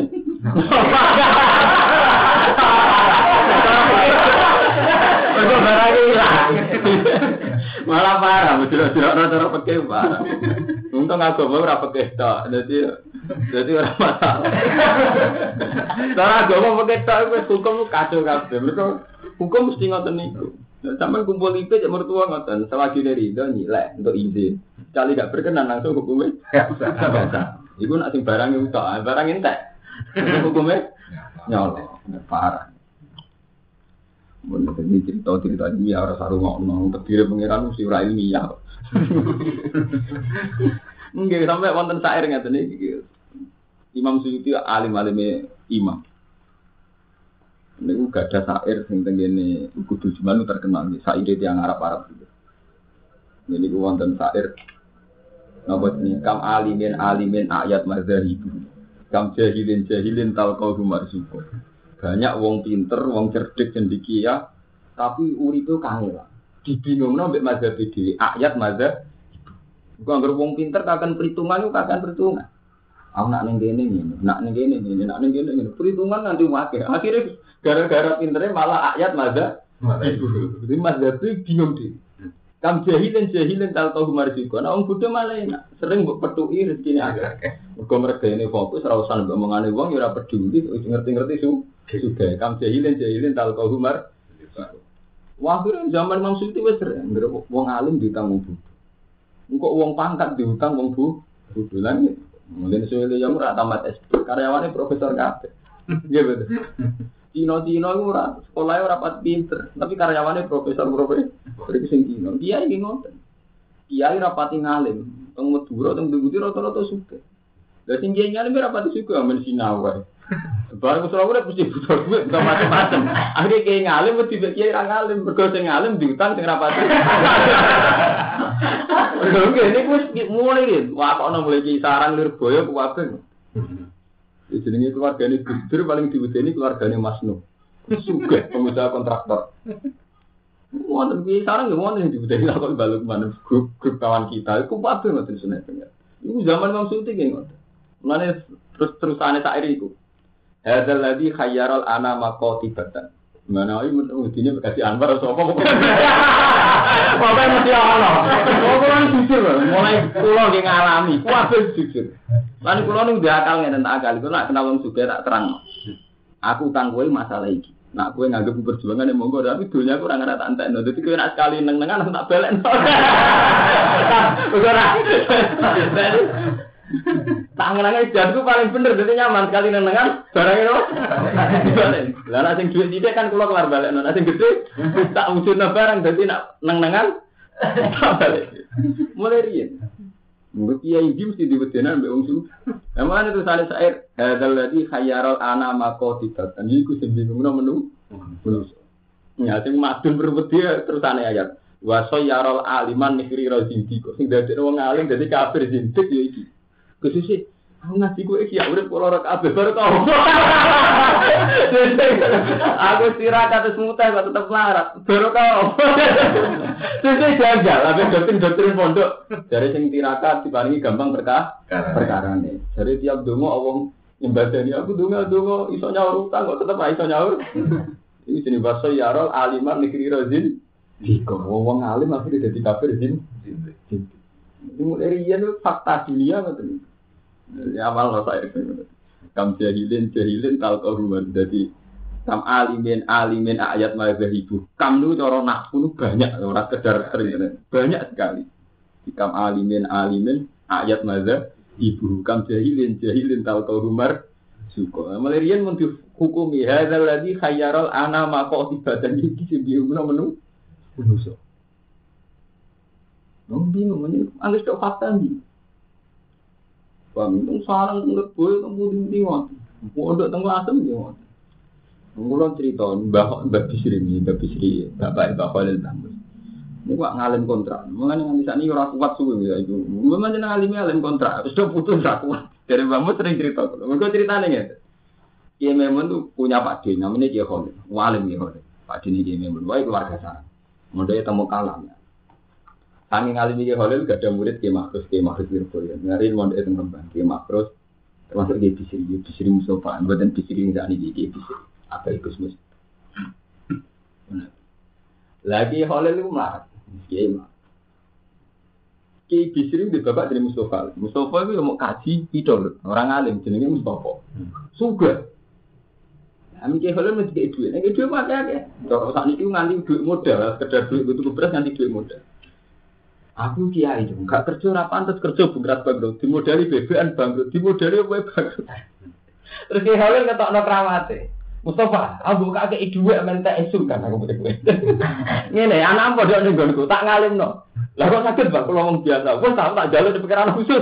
Betul barangnya hilang. Malah parah, betul rata-rata pakai parah. Untung aku ora pakai tok, jadi orang masalah. Cara agama pakai tok wis hukum kacau kabeh. Mereka hukum mesti ngoten niku. Sampai kumpul IP cek mertua ngoten, selagi dari itu nilai untuk izin. Sekali gak berkenan langsung hukumnya biasa. Iku nak sing barang utak, barang entek. Hukumnya nyolong, parah. Mun iki cerita iki ora saru ngono, terdiri pengiran mesti ora ilmiah. Nggih sampai wonten syair ngaten iki. Imam Suyuti alim-alime imam. Niku gak ada syair sing tengene kudu cuman terkenal iki syair tiyang Arab gitu. Niku wonten syair napa jenenge kam alimin ayat mazharibu. Kam jahilin talqahu marzuqun. Banyak wong pinter, wong cerdik cendekia tapi uripe kangelan. Dibingungno mbek mazhab dhewe, ayat mazhab. Iku anggere wong pinter kakan perhitungan iku kakan perhitungan. Aku nak ning kene ngene, nak ning kene ngene, nak ning kene ngene. Perhitungan nanti wakil. Akhirnya gara-gara pinternya malah ayat mazhab. Jadi mazhab itu bingung deh. Kam jahilin tahu marjiko. Nah, orang Buddha malah enak. Sering buat petuki rezeki agak. Mereka mereka ini fokus, rawusan ngomongane wong, ora peduli, ngerti-ngerti sudah. Kam jahilin tahu marjiko. Waktu zaman Imam Suyuti wes sering. Wong alim diutang wong Buddha. Engkau wong pangkat diutang wong Buddha lagi. Mungkin soalnya yang murah tamat SD, karyawannya profesor kabeh. Iya betul. Cino itu sekolahnya rapat pinter, tapi karyawannya profesor itu sing Cino. Dia ini ngoten. Dia rapati ngalim, teng Madura, teng Budi rata-rata suka. Lah sing kiai ngalim rapati suka men sinau wae. Barang Surabaya mesti butuh duit, bukan macam-macam. Akhirnya kiai ngalim mesti kiai ra ngalim, mergo sing ngalim diutang sing rapati. Oke, ini gue mulai gitu. Wah, kok mulai kisaran Lirboyo ke Wabeng. Jadi keluarganya Gus Dur paling diwedeni keluarganya Mas Nuh. Sugih pengusaha kontraktor. Wonten kisaran nggih wonten diwedeni kok balik mana grup kawan kita. Iku Wabeng ngoten seneng. Iku zaman Imam Suyuti nggih ngoten. Mulane terus-terusane sak iku. Hadzal ladzi khayyaral anama qatibatan. Mana iki mudine kasih Anwar sapa kok. Apa mesti ana. Kok jujur mulai kula nggih ngalami, kabeh jujur. Lan kula nu akal ngene tak akal, kok nek kenal wong sugih tak terang. Aku utang kowe masalah iki. Nak kowe nganggep perjuangan monggo tapi dunya aku ora ngerti tak entekno. Dadi kowe nek sekali neng-nengan aku tak balekno. Ora. Tangan-tangan jadku paling bener, jadi nyaman sekali nengan barang itu. Lah nek sing duit sithik kan kula kelar balekno. Nek sing gede tak wujudna barang dadi nak nengan balik. Mulai riyen. Mbok kiai iki mesti diwedenan mbek wong su. Emane itu sale sair hadzal ladzi khayyaral anama qatibatan. Iku sing bingungno menu. Ya sing madun berwedi terusane ayat. Wa sayyarul aliman nihri razindi. Sing dadi wong alim dadi kafir zindik ya iki. Kesusi, aku ngaji kowe iki ya urip kula ora kabeh baru tau. Aku tirakat terus mutah kok tetep larat. Baru tau. Sesuk jajal ape doktrin pondok. Dari sing tirakat diparingi gampang perkarane. Dari tiap donga wong nyembadani aku donga iso nyaur utang kok tetep iso nyaur. Iki jenenge basa yarol aliman nikri rozin. Diko wong alim akhire dadi kafir zin. Mulai riyen fakta dunia ngoten. Ya amal saya kam jahilin talqahuman. Jadi kam alimin ayat mazhabibu. Kam nu cara nahwu banyak ora sekedar sering banyak sekali. Kam alimin ayat mazhabibu. Kam jahilin talqahumar suka. Mulai riyen mun dihukumi hadzal ladzi khayyaral anama qatibatan iki sing diumumno menu manusa. Nong bingung meneh anggere tok fakta iki. Bang, sarang ngerboy kemudian tiwat. Pondok tengah asem tiwat. Ngulon cerita Mbah Bisri ini, Bapak Khalil Bambus. Ini kok ngalim kontrak. Mengenai nganti sakniki ora kuat suwe ya iku. Memang jeneng ngalim kontrak, wis putus ra kuat. Dari Bambus sering cerita. Mergo ceritane ngene. Kiai Memun tuh punya Pak D, namanya Kiai Khalil. Walim Kiai Khalil. Pak D ini Kiai Memun, wae keluarga sarang. Mondoknya temu kalam. Kami ngalimi Kiai Khalil gak ada murid Kiai Makrus Lirboyo. Ngari mondok teng Rembang Kiai Makrus termasuk Kiai Bisri Mustofa, mboten Bisri sak niki Kiai Bisri. Apa iku Gus? Lagi Khalil iku mlarat. Kiai Bisri di bapak dari Mustofa. Mustofa itu mau kaji pidol, orang alim jenenge Mustofa. Sugih. Amin Kiai Khalil mesti duit. Nek duit mate akeh. Kok sak niki nganti duit modal, sekedar duit butuh beras nganti duit modal. Aku kiai itu, enggak kerja ora pantes kerja bungkrat bangkrut, dimodali BBN bangkrut, dimodali apa bangkrut. Terus Kiai Khalil ketokno kramate. Mustafa, aku kakek dhuwit mentek isu kan aku putih kowe. Ngene, anak padha ning nggonku, tak ngalimno. Lah kok sakit Bang, kula wong biasa. Wes tak jaluk di pikiran khusus.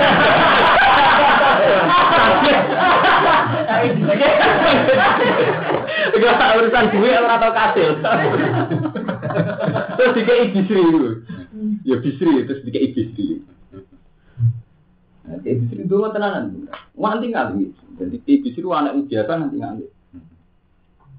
Enggak urusan duit ora tau kasil. Terus dikei Bisri itu. Ya Bisri terus dikei Bisri. Kayak Bisri dulu tenanan. Nganti ngali. Jadi Bisri anak biasa nanti ngali.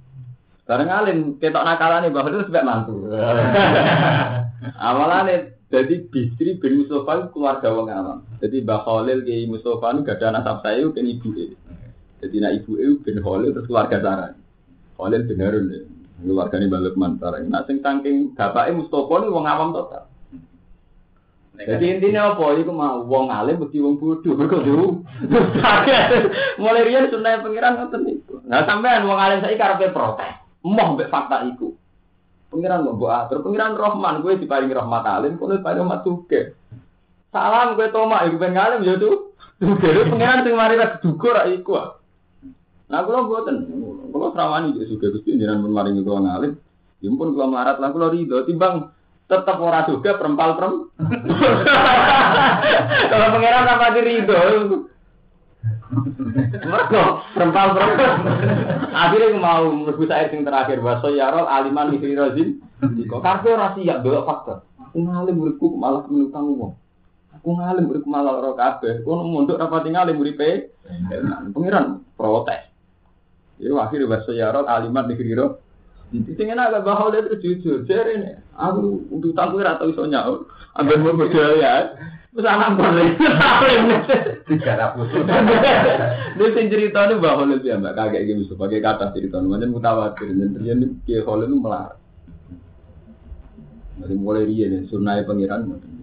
Sekarang ngalim ketok nakalane bahwa itu sebab mantu. Awalane Jadi Bisri bin Mustafa keluarga wong awam. Jadi Mbah Khalil Ki Mustafa itu gak ada nasab saya kan ibuke. Jadi nak ibuke bin Khalil terus keluarga Sarah. Khalil bin Harun keluargane Mbah Lukman Sarah. Nah sing saking bapake Mustafa niku wong awam total. Jadi intinya apa? Iku mau wong alim mesti wong bodoh. Mergo dulu. Mulai riyen sunah pengiran ngoten niku. Nah sampean wong alim saiki karepe protes. Emoh mbek fakta iku. Pengiran mbok atur, pengiran Rahman kowe diparingi rahmat alim, kowe diparingi rahmat suge. Salam kowe tomak iku ben alim ya tuh. Suge pengiran sing mari ra duga ra iku. Nah kula mboten, kula srawani yo suge Gusti jenengan pun maringi kula ngalim. Ya pun kula melarat lah kula rido timbang tetep ora suge perempal. Kalau pengiran apa rido. Mergo perempal. Akhirnya mau mlebu sair sing terakhir waso yarol aliman mikri rozin. Kok kabeh ora siap delok faktor. Aku ngalim muridku malah menutang wong. Aku ngalim muridku malah ora kabeh. Kono mondok rapati ngalim muripe. Pengiran protes. Ya akhirnya waso yarol aliman mikri rozin. Sing enak gak bahol itu jujur. Jarene aku utang kuwi ra tau iso nyaur. Amben mau berjaya. Wis anak boleh. 300. Nek sing ceritane Mbah Khalil ya Mbak kakek iki wis pakai kata ceritane pancen mutawatir yen Ki Khalil melar. Dari mulai riyen sunnahe pangeran ngoten.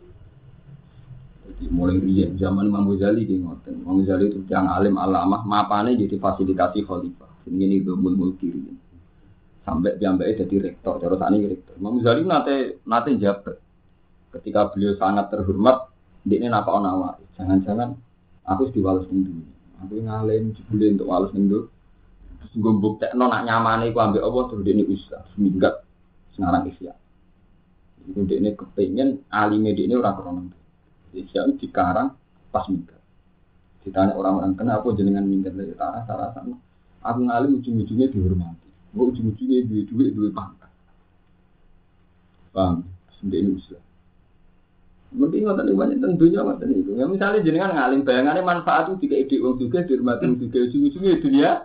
Jadi mulai riyen zaman Imam Ghazali ki ngoten. Imam Ghazali itu yang alim alamah mapane jadi fasilitasi khalifah. Sing ngene iku mulki riyen. Sampai piyambake jadi rektor, terus sakniki rektor. Imam Ghazali nate jabat. Ketika beliau sangat terhormat, dia napa nawar. Jangan-jangan aku diwales ning dunya. Aku ngalim jebule untuk wales ning dunya. Terus nggo mbuktekno nak nyamane iku ambek Allah terus dene usaha seminggat sengarang isya. Iku dene kepengin alime dene ora krono. Isya dikarang pas minggat. Ditanya orang-orang kenapa jenengan minggat dari tanah sarasana. Aku ngalim ujung-ujungnya dihormati. Kok ujung-ujungnya duit pangkat. Paham? Dene usaha. Mungkin ngoten iki banyak tentunya ngoten itu. Ya misalnya jenengan ngalim bayangane manfaat itu dikek ide wong juga dihormati wong juga ujung-ujunge dunia.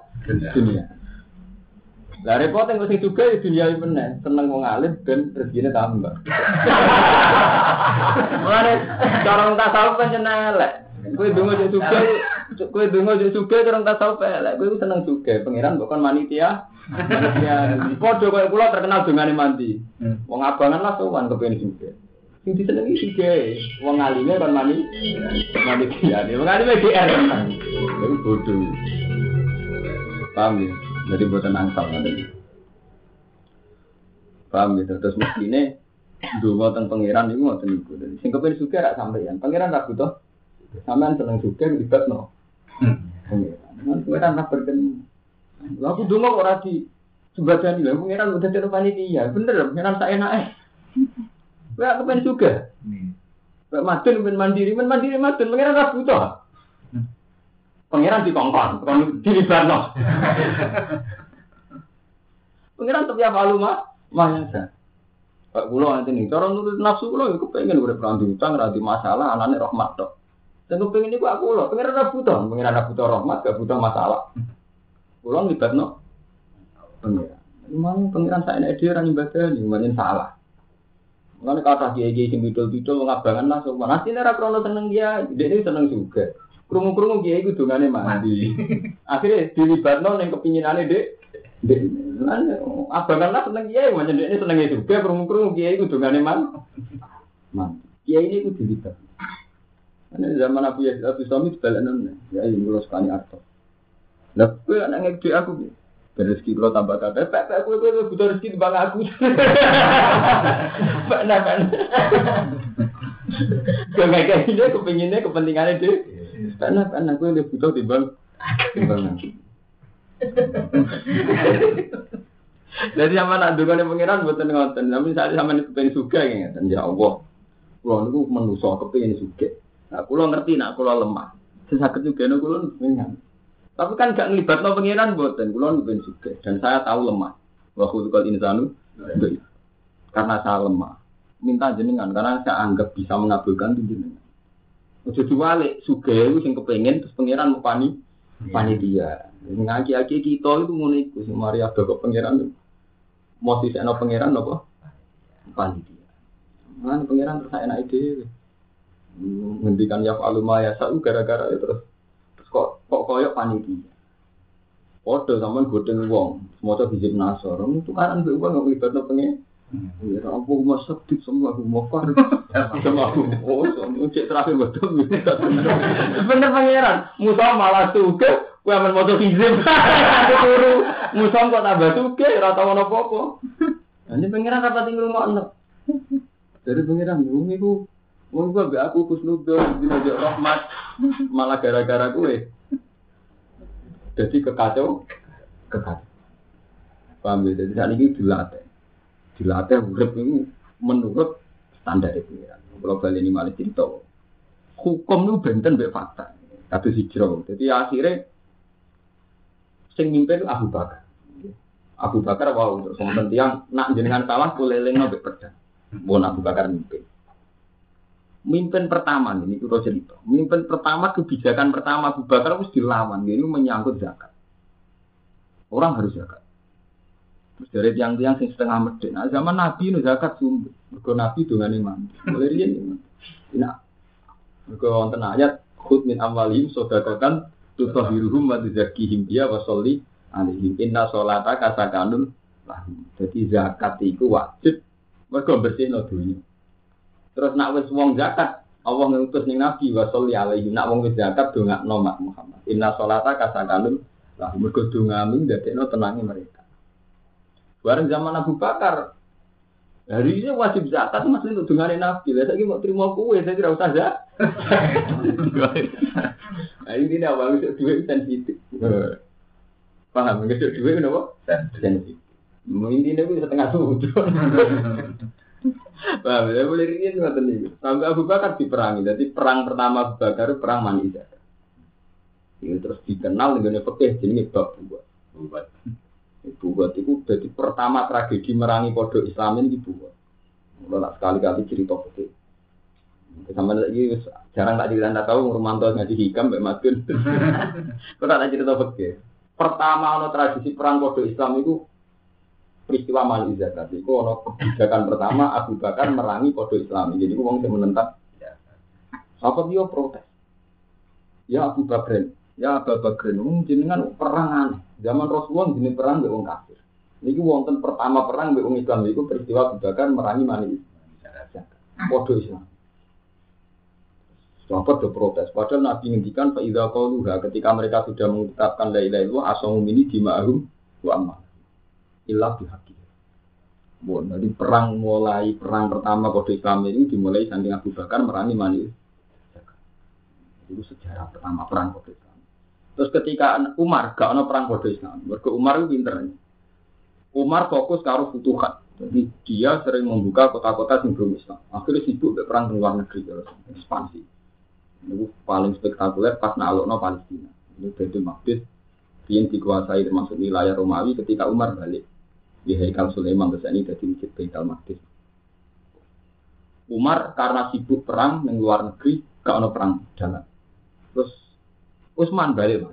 Lah repot engko sing juga ya dunia iki meneh, seneng wong alim ben rezekine tambah. Mulane cara tasawuf pancen elek. Kowe donga yo juga cara tasawuf elek. Kowe seneng juga pangeran bukan manitia. Padha koyo kula terkenal dongane mandi. Wong abangan lah sowan kepengin juga. Sing disenengi sige, wong alime kan mani kiyane. Wong alime DR kan. Iku bodoh. Paham ya? Jadi boten angsal ngoten. Paham ya? Terus mestine ndonga teng pangeran niku ngoten niku. Dadi sing kepengin sugih rak sampeyan. Pangeran ra butuh. Sampeyan seneng sugih libatno. Pangeran ra berken. Lha aku ndonga kok ora di sembadani lha pangeran udah dadi panitia. Bener, pangeran sak enake. Wah, aku pengen juga. Wah, madun pengen mandiri madun. Pangeran tak butuh. Pangeran dikongkon, bukan dilibatno. Pangeran tapi apa lu mah ya. Pak kula nanti nih, cara nurut nafsu kula aku pengen urip ra diutang, ra di masalah, anane rahmat tok. Dan aku pengen iku aku lho, pangeran tak butuh rahmat, gak butuh masalah. Kula libatno pangeran. Memang pangeran sak enek dhewe ra nyembadani, pancen salah. Mulane kata kiai-kiai sing bidol-bidol ngabangan lah sopan. Asline ra krono seneng dia, dhekne seneng juga. Krungu-krungu kiai ku dongane mandi. Akhire dilibatno ning kepinginane Dek. Lan abangan lah seneng kiai, pancen dhekne senenge juga krungu-krungu kiai ku dongane man. Kiai ini ku dilibat. Ane zaman Abu Yazid Al-Bustami balanan ya ngulo sekali arto. Lah kowe anak ngedek aku. Rezeki kalau tambah kata, Pak, aku butuh rezeki timbang aku. Pak, nak. Kayak gini, kepinginnya kepentingannya deh. Pak, aku lebih butuh timbang aku. Jadi sama nak dugaan pengiran buatan ngoten. Tapi saat sama ini kepengen suka ya, ya Allah. Kulo niku manusa kepengen suka. Nah, kulo ngerti nak kulo lemah. Sesakit juga nek kulo pengen. Tapi kan gak ngelibatno pengiran mboten, kula niku juga dan saya tahu lemah. Wa khulqul insanu karena saya lemah. Minta jenengan karena saya anggap bisa mengabulkan jenengan. Ojo diwalik sugih iku sing kepengin terus pengiran mau panitia. Ngaki-aki kita itu ngono iku sing mari ada kok pengiran. Mau disekno pengiran apa? Panitia. Mana pangeran terus enak ide. Ngendikan ya aluma ya satu gara-gara itu terus kok koyok panitia. Podo sampean godeng wong, semoga hizib nasor. Itu kan mbek wong nggak ibadah pengen. Ya aku masak di semua aku mau far. Sama aku. Oh, cek terakhir betul. Bener pangeran. Musa malah suka, kowe amen moto hizib. Turu. Musa kok tambah suka, ora tau ono apa-apa. Ini pangeran apa tinggal ngomong. Dari pangeran bumi ku, wong gua be aku kusnudon dina rahmat malah gara-gara gue. Jadi kekacau. Paham ya? Jadi saat ini dilatih urip itu menurut standar pangeran. Kalau balik ini malah cerita. Hukum itu benten mbek fakta. Kata hijrah. Jadi akhirnya sing mimpin Abu Bakar. Abu Bakar wow terus wonten tiyang nak jenengan salah kulelengno mbek pedang. Mun Abu Bakar mimpin. Mimpin pertama ini itu cerita. Mimpin pertama kebijakan pertama Abu Bakar harus dilawan. Ini menyangkut zakat. Orang harus zakat. Terus dari tiang-tiang sing setengah medhek. Nah, zaman Nabi nu zakat sumber. Mergo Nabi dongane mandi. Mulai riyen. Nah, mergo wonten ayat khud min amwalihim shadaqatan tutahhiruhum wa tuzakkihim biha wa sholli alaihim inna sholata sakanun lahum. Jadi zakat itu wajib mergo bersihno dunya. Terus nak wis wong zakat, Allah ngutus ning Nabi wa sholli alaihi. Nak wong wis zakat dongakno mak Muhammad. Inna sholata kasakanun lah mergo dongamu ndadekno tenange mereka. Bareng zaman Abu Bakar. Hari ini wajib zakat masih untuk dongane Nabi. Lah saiki mau trimo kowe, saya tidak usah zakat. Nah ini awal wis duwe sensitif. Paham nggak duwe napa? Sensitif. Mungkin ini wis setengah sudut. Paham ya, boleh riyen ngoten niku. Sampai Abu Bakar diperangi. Jadi perang pertama Abu Bakar perang Mani Zakat. Itu terus dikenal dengan fikih jenenge bab buat. Buat itu jadi pertama tragedi merangi pondok Islam ini buat. Mulai sekali-kali cerita fikih. Sampai lagi jarang tak cerita tahu Romanto ngaji hikam Mbak Madun. Kok tak cerita fikih. Pertama ono tradisi perang pondok Islam itu peristiwa Mani Zakat itu ono kebijakan pertama Abu Bakar merangi pondok Islam. Jadi wong sing menentang. Apa dia protes? Ya Abu Bakar, jenengan perang aneh. Zaman Rasulullah jenis perang mbek wong kafir. Niki wonten pertama perang mbek wong Islam iku peristiwa Abu Bakar merangi Mani Zakat. Pondok Islam. Sahabat do protes. Padahal Nabi ngendikan fa idza qaluha ketika mereka sudah mengucapkan la ilaha illallah asamu mini dima'hum wa amma. Ilah dihaki. Bon, jadi perang pertama kode Islam ini dimulai saking Abu Bakar merangi Mani Zakat. Itu sejarah pertama perang kode Islam. Terus ketika Umar gak ono perang kode Islam, mergo Umar itu pinter. Umar fokus karo futuhat. Jadi dia sering membuka kota-kota yang belum Islam. Akhirnya sibuk ke perang di luar negeri terus ekspansi. Itu paling spektakuler pas nalokno Palestina. Ini Baitul Maqdis yang dikuasai termasuk wilayah Romawi ketika Umar balik. Di Haikal Sulaiman terus ini jadi masjid Baitul Maqdis. Umar karena sibuk perang di luar negeri, gak ono perang dalam. Terus Utsman balik.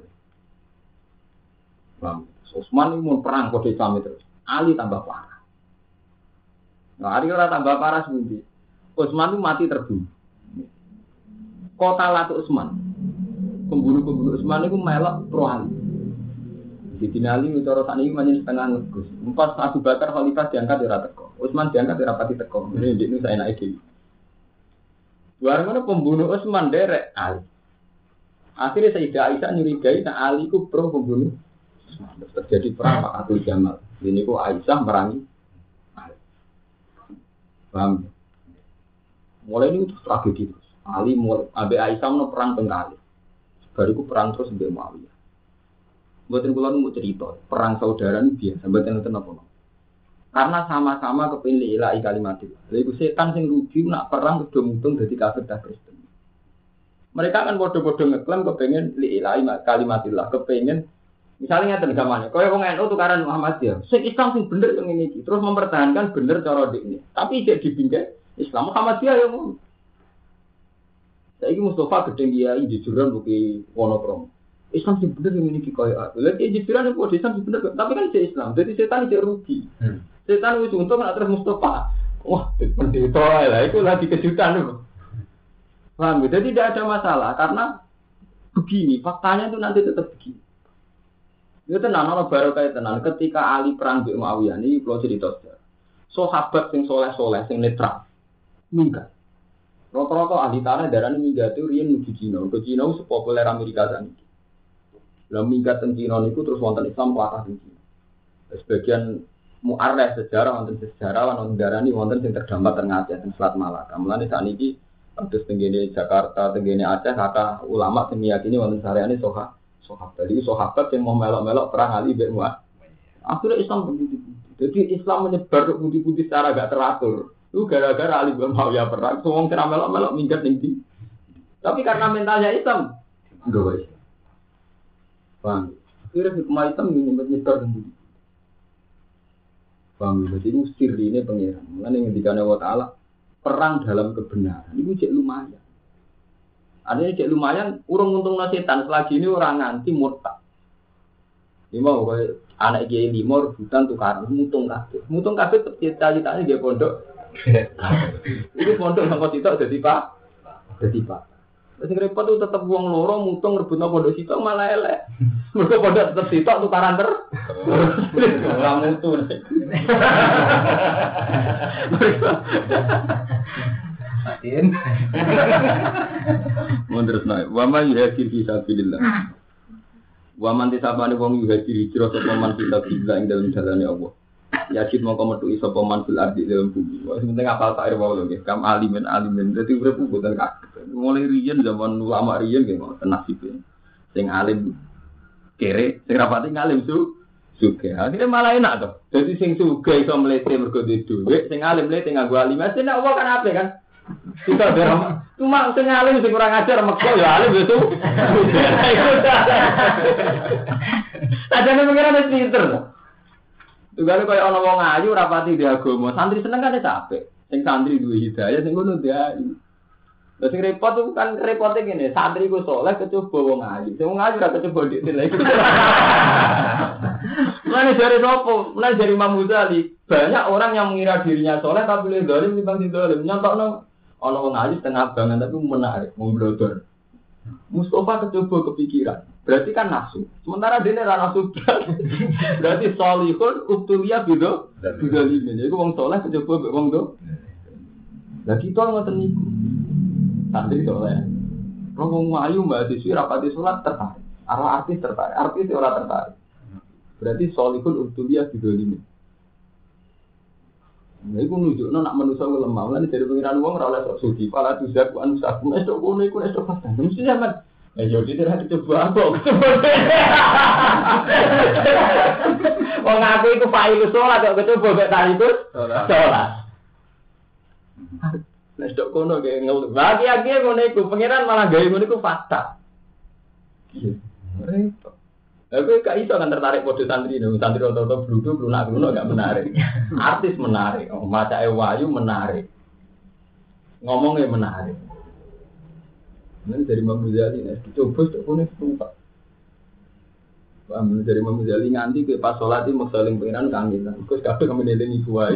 Utsman ini mau perang kode Islam terus. Ali tambah parah. Nah, Ali ora tambah parah sebenarnya. Utsman itu mati terbunuh. Kota Latu Utsman. Pembunuh Utsman itu melok pro Ali. Di Dinali cara sakniki manjen setengah ngegus. Empat Abu Bakar khalifah diangkat ora teko. Utsman diangkat ora pati teko. Ini ndekne saenake dhewe. Bareng pembunuh Utsman derek Ali. Akhirnya Sayyidah Aisyah nyurigai nek Ali ku pro pembunuh Utsman. Terjadi perang Fatul Jamal. Ini ku Aisyah merangi Ali. Paham? Mulai ini tragedi terus. Ali mulai ambek Aisyah ono perang tengkali. Bariku perang terus mbek Muawiyah. Mboten kula nu cerita, perang saudara ini biasa, mboten nonton apa. Karena sama-sama kepilih ilahi kalimatillah. Lha iku setan sing rugi nak perang kudu mutung dadi kafir ta Kristen. Mereka kan bodoh-bodoh ngeklaim kepengen li ilahi kalimatillah, kepengen misalnya ngeten gamane, kaya wong NU tukaran Muhammadiyah. Sing Islam sing bener yang ini terus mempertahankan bener cara dikne. Tapi cek dibingkai Islam Muhammadiyah ya ngono. Saiki Mustafa gedeng kiai jujuran buki Wonokromo. Islam sih bener yang memiliki kaya aku. Lagi jiran itu Islam sih bener, tapi kan Islam. Jadi setan tidak rugi. Setan itu untung nak terus Mustafa. Wah, pendeta lah itu lagi kejutan loh. Paham? Jadi tidak ada masalah karena begini, faktanya itu nanti tetap begini. Itu tenan ana barokah tenan ketika Ali perang mbek Muawiyah niki kula cerita sejarah. Sahabat sing soleh-soleh sing netral minggat. Rata-rata ahli tanah darane minggat itu riyen menuju Cina. Ke Cina sepopuler Amerika saniki. Lah minggat teng Cina niku terus wonten Islam pelakah teng Cina. Sebagian mu'arrikh sejarah wonten sejarawan wonten darani wonten sing terdampar teng Aceh teng Selat Malaka. Mulane sakniki kados teng Jakarta, teng Aceh kata ulama sing meyakini wonten sareane sahabat. Jadi sahabat yang mau melok-melok perang Ali bin Muawiyah. Akhirnya Islam begitu. Jadi Islam menyebar ke budi-budi secara gak teratur. Itu gara-gara Ali bin Muawiyah perang. Semua kira melok-melok minggat tinggi. Tapi karena mentalnya Islam, enggak baik. Bang, akhirnya hikmah Islam menyebar ke budi. Bang, jadi itu sirri ini pengiran. Mulanya yang dikatakan Allah Ta'ala, perang dalam kebenaran. Itu cek lumayan. Adanya cek lumayan, urung untung setan selagi ini orang nganti murtad. Ini mau kayak anak kiai 5 rebutan tukar mutung kabeh cita-citanya dia pondok. Ini pondok yang kau cita jadi pak. Terus repot tuh tetap buang loro mutung rebutno pondok cita malah elek. Mereka pondok tetap cita tukaran orang mutu. Atin. Menurut naik, waman yuhajir fisabilillah. Waman tisabani wong yuhajir hijrah sapa man fisabilillah ing dalam jalane Allah. Yajid mongko metu sapa man fil ardi dalam bumi. Wis penting apal sair wae lho nggih. Kam alimen. Dadi urip mboten kaget. Mulai riyen zaman ulama riyen nggih ngoten nasibe. Sing alim kere, sing rapati ngalim sugih. Akhire malah enak to. Dadi sing sugih iso mlete mergo duwe dhuwit, sing alim mlete nganggo alim. Mesti nek Allah kan ape kan? Kita berama, cuma sing alim sing kurang ajar mekko ya alim itu. Sajane pengiran wis pinter. Tugale koyo ana wong ayu rapati di agama, santri seneng kan capek. Sing santri duwe hidayah sing ngono dia. Lah sing repot itu kan repote ngene, santri ku saleh kecoba wong ayu. Sing wong ayu ora kecoba dik lagi. Mulane dari sopo? Mulane dari Imam Ghazali, banyak orang yang mengira dirinya saleh tapi le zalim timbang zalim. Nyontokno ana wong ayu setengah banget tapi menarik, memblodor. Mustafa kecoba kepikiran. Berarti kan nafsu. Sementara dene ora nafsu. Berarti salihun ubtuliya bido limin. Iku wong saleh kecoba wong do. Lah kita ngoten niku. Santri saleh. Wong ayu mbak disi rapati salat tertarik. Artis tertarik, artis ora tertarik. Berarti salihun ubtuliya bido limin. Nah, itu nunjukno nak manusia lemah. Lan dari pengiran wong ora oleh sok suci. Pala tuzak anu sak nek tok ngono iku nek tok pas. Mesti sampean. Yo tidak coba apa. Wong aku iku failu salat kok coba gak tarikus. Salat. Nek tok kono ge ngel. Bagi-bagi ngono iku pengiran malah gawe ngono iku fakta. Repot. Aku gak iso kan tertarik pada santri dong. Santri otot bludu, lunak gak menarik. Artis menarik, macae wayu menarik. Ngomongnya menarik. Ini dari Imam Ghazali, coba tak punya setempat. Paham, dari Imam Ghazali nganti ke pas sholat itu saling pengiran kangen. Terus kabeh kami nelengi kuai.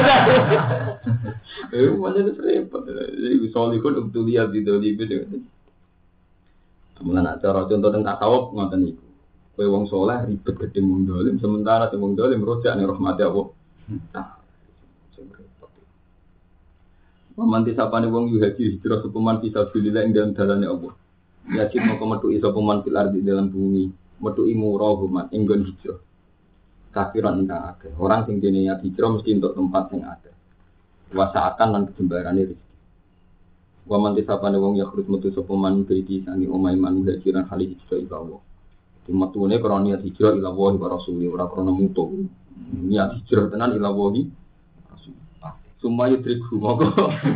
Macam itu repot. Jadi solihun untuk lihat di dalam itu. Kemudian cara contoh tentang tasawuf ngoten iku. Kowe wong saleh ribet gedhe wong dolim sementara wong dolim rojak ning rahmat Allah. Pamanti sapane wong yuhaji hijrah sepeman fisabilillah ing dalem dalane Allah. Yajib moko metu iso peman fil ardi dalam bumi, metu imurahuman ing nggon hijrah. Kafiran ingkang akeh. Orang sing dene niat hijrah mesti entuk tempat sing akeh. Wasaakan lan kejembarane rezeki. Wa man tisapane wong yakhrut metu sepeman beiti sangi omahe man hajiran kali hijrah ila Allah. Matune krana niat hijrah ila Allah wa rasuli ora krana mutu. Niat hijrah tenan ila Allah. Sumaya triku moko.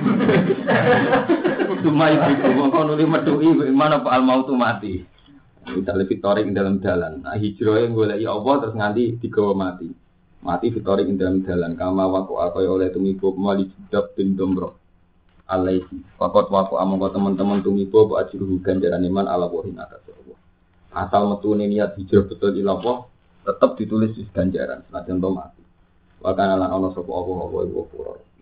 Sumaya triku moko nuli metuki mana Pak al mautu mati. Kita lebih torik dalam jalan. Nah hijrah yang goleki Allah terus nganti digawa mati. Mati fitorik dalam jalan. Kama waku kaya oleh tumibo mali jidab bin domro. Alaihi. Fakot waku amangka teman-teman tumibo bu ajruhu ganjaran iman ala wahin atas Allah. Asal metune niat hijrah betul ila Allah tetap ditulis di ganjaran senajan to mati. Wa kana lan ana sapa apa iku ora.